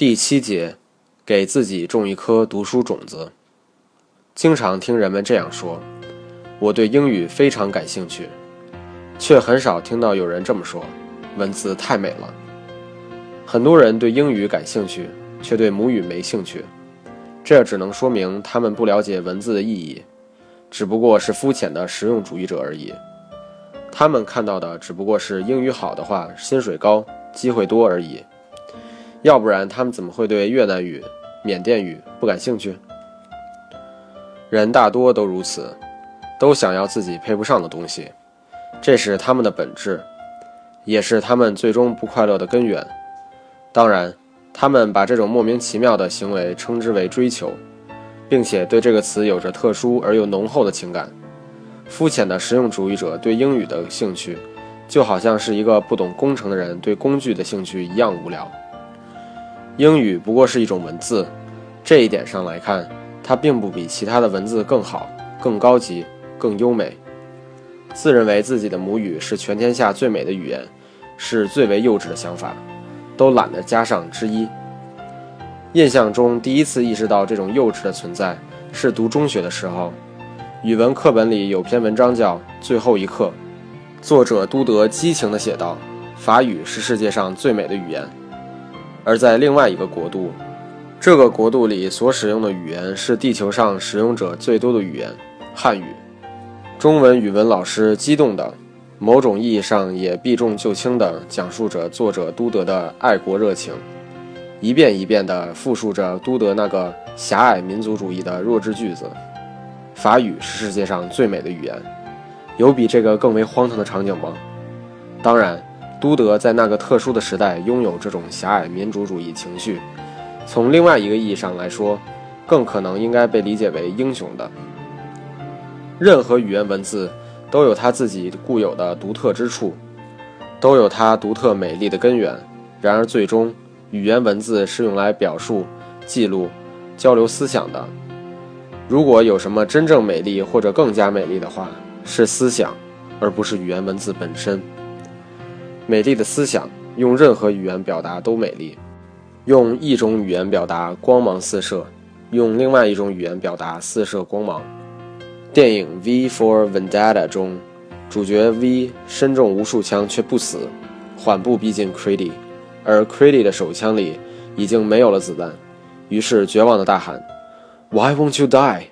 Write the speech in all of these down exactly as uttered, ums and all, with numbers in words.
第七节，给自己种一颗读书种子。经常听人们这样说，我对英语非常感兴趣，却很少听到有人这么说，文字太美了。很多人对英语感兴趣，却对母语没兴趣，这只能说明他们不了解文字的意义，只不过是肤浅的实用主义者而已。他们看到的只不过是英语好的话，薪水高，机会多而已。要不然他们怎么会对越南语、缅甸语不感兴趣？人大多都如此，都想要自己配不上的东西，这是他们的本质，也是他们最终不快乐的根源。当然，他们把这种莫名其妙的行为称之为追求，并且对这个词有着特殊而又浓厚的情感。肤浅的实用主义者对英语的兴趣，就好像是一个不懂工程的人对工具的兴趣一样无聊。英语不过是一种文字，这一点上来看，它并不比其他的文字更好、更高级、更优美。自认为自己的母语是全天下最美的语言，是最为幼稚的想法，都懒得加上之一。印象中第一次意识到这种幼稚的存在，是读中学的时候。语文课本里有篇文章叫《最后一课》，作者都德激情地写道，法语是世界上最美的语言。而在另外一个国度，这个国度里所使用的语言是地球上使用者最多的语言——汉语。中文语文老师激动的，某种意义上也避重就轻地讲述着作者都德的爱国热情，一遍一遍地复述着都德那个狭隘民族主义的弱智句子。法语是世界上最美的语言，有比这个更为荒唐的场景吗？当然，都德在那个特殊的时代拥有这种狭隘民族主义情绪，从另外一个意义上来说，更可能应该被理解为英雄的。任何语言文字都有它自己固有的独特之处，都有它独特美丽的根源。然而最终，语言文字是用来表述、记录、交流思想的。如果有什么真正美丽或者更加美丽的话，是思想，而不是语言文字本身。美丽的思想用任何语言表达都美丽，用一种语言表达光芒四射，用另外一种语言表达四射光芒。电影 V for Vendetta 中，主角 V 身中无数枪却不死，缓步逼近 Creedy， 而 Creedy 的手枪里已经没有了子弹，于是绝望地大喊 Why won't you die?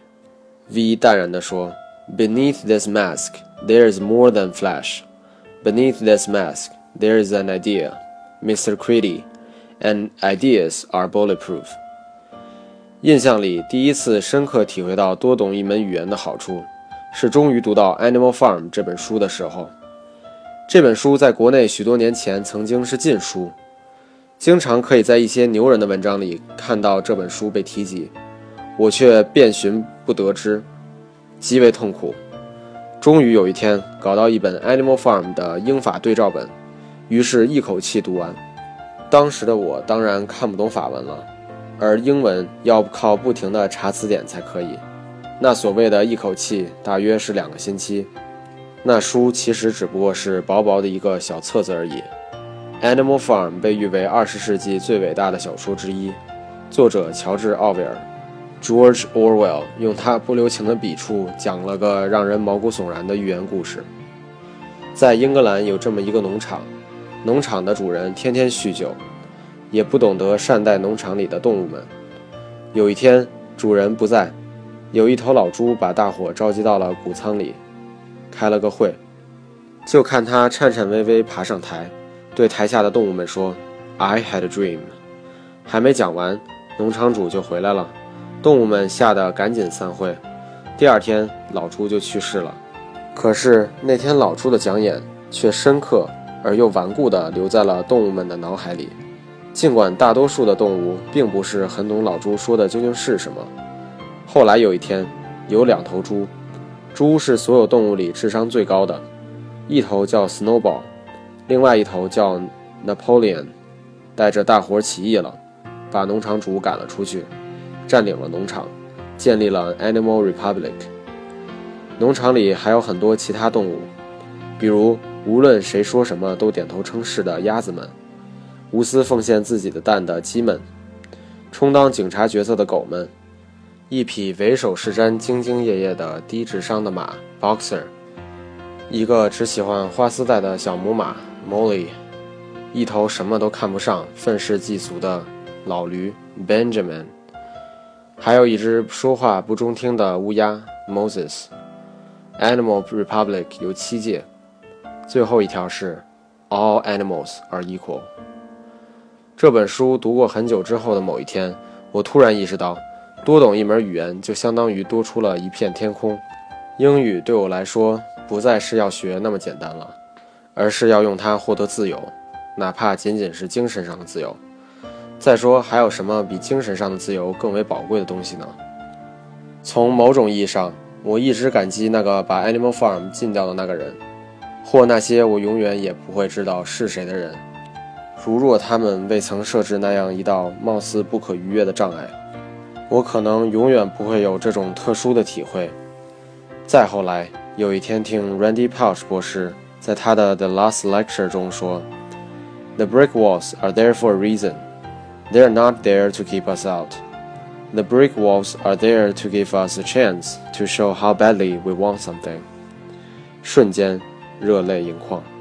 V 淡然地说 Beneath this mask, there is more than flesh. Beneath this mask, there is an idea, Mister Creedy, and ideas are bulletproof. 印象里第一次深刻体会到多懂一门语言的好处，是终于读到 Animal Farm 这本书的时候。这本书在国内许多年前曾经是禁书，经常可以在一些牛人的文章里看到这本书被提及，我却遍寻不得之，极为痛苦。终于有一天搞到一本 Animal Farm 的英法对照本，于是一口气读完。当时的我当然看不懂法文了，而英文要靠不停地查词典才可以。那所谓的一口气大约是两个星期。那书其实只不过是薄薄的一个小册子而已。Animal Farm 被誉为二十世纪最伟大的小说之一，作者乔治·奥威尔 George Orwell 用他不留情的笔触讲了个让人毛骨悚然的寓言故事。在英格兰有这么一个农场，农场的主人天天酗酒，也不懂得善待农场里的动物们。有一天主人不在，有一头老猪把大伙召集到了谷仓里，开了个会。就看他颤颤巍巍爬上台，对台下的动物们说 I had a dream。 还没讲完，农场主就回来了，动物们吓得赶紧散会。第二天老猪就去世了。可是那天老猪的讲演却深刻而又顽固地留在了动物们的脑海里，尽管大多数的动物并不是很懂老猪说的究竟是什么。后来有一天，有两头猪，猪是所有动物里智商最高的，一头叫 Snowball， 另外一头叫 Napoleon， 带着大伙起义了，把农场主赶了出去，占领了农场，建立了 Animal Republic。 农场里还有很多其他动物，比如无论谁说什么都点头称是的鸭子们，无私奉献自己的蛋的鸡们， 充当警察角色的狗们，一匹为首是瞻、兢兢业业的低智商的马 Boxer， 一个只喜欢花丝带的小母马 Molly， 一头什么都看不上、愤世嫉俗的老驴 Benjamin， 还有一只说话不中听的乌鸦 Moses。Animal Republic 有七届，最后一条是 All animals are equal。 这本书读过很久之后的某一天，我突然意识到，多懂一门语言就相当于多出了一片天空。英语对我来说不再是要学那么简单了，而是要用它获得自由，哪怕仅仅是精神上的自由。再说，还有什么比精神上的自由更为宝贵的东西呢？从某种意义上，我一直感激那个把 Animal Farm 禁掉的那个人，或那些我永远也不会知道是谁的人，如若他们未曾设置那样一道貌似不可逾越的障碍，我可能永远不会有这种特殊的体会。再后来，有一天听 Randy Pausch 博士在他的 The Last Lecture 中说， The brick walls are there for a reason. They are not there to keep us out.The brick walls are there to give us a chance to show how badly we want something. 瞬间，热泪盈眶。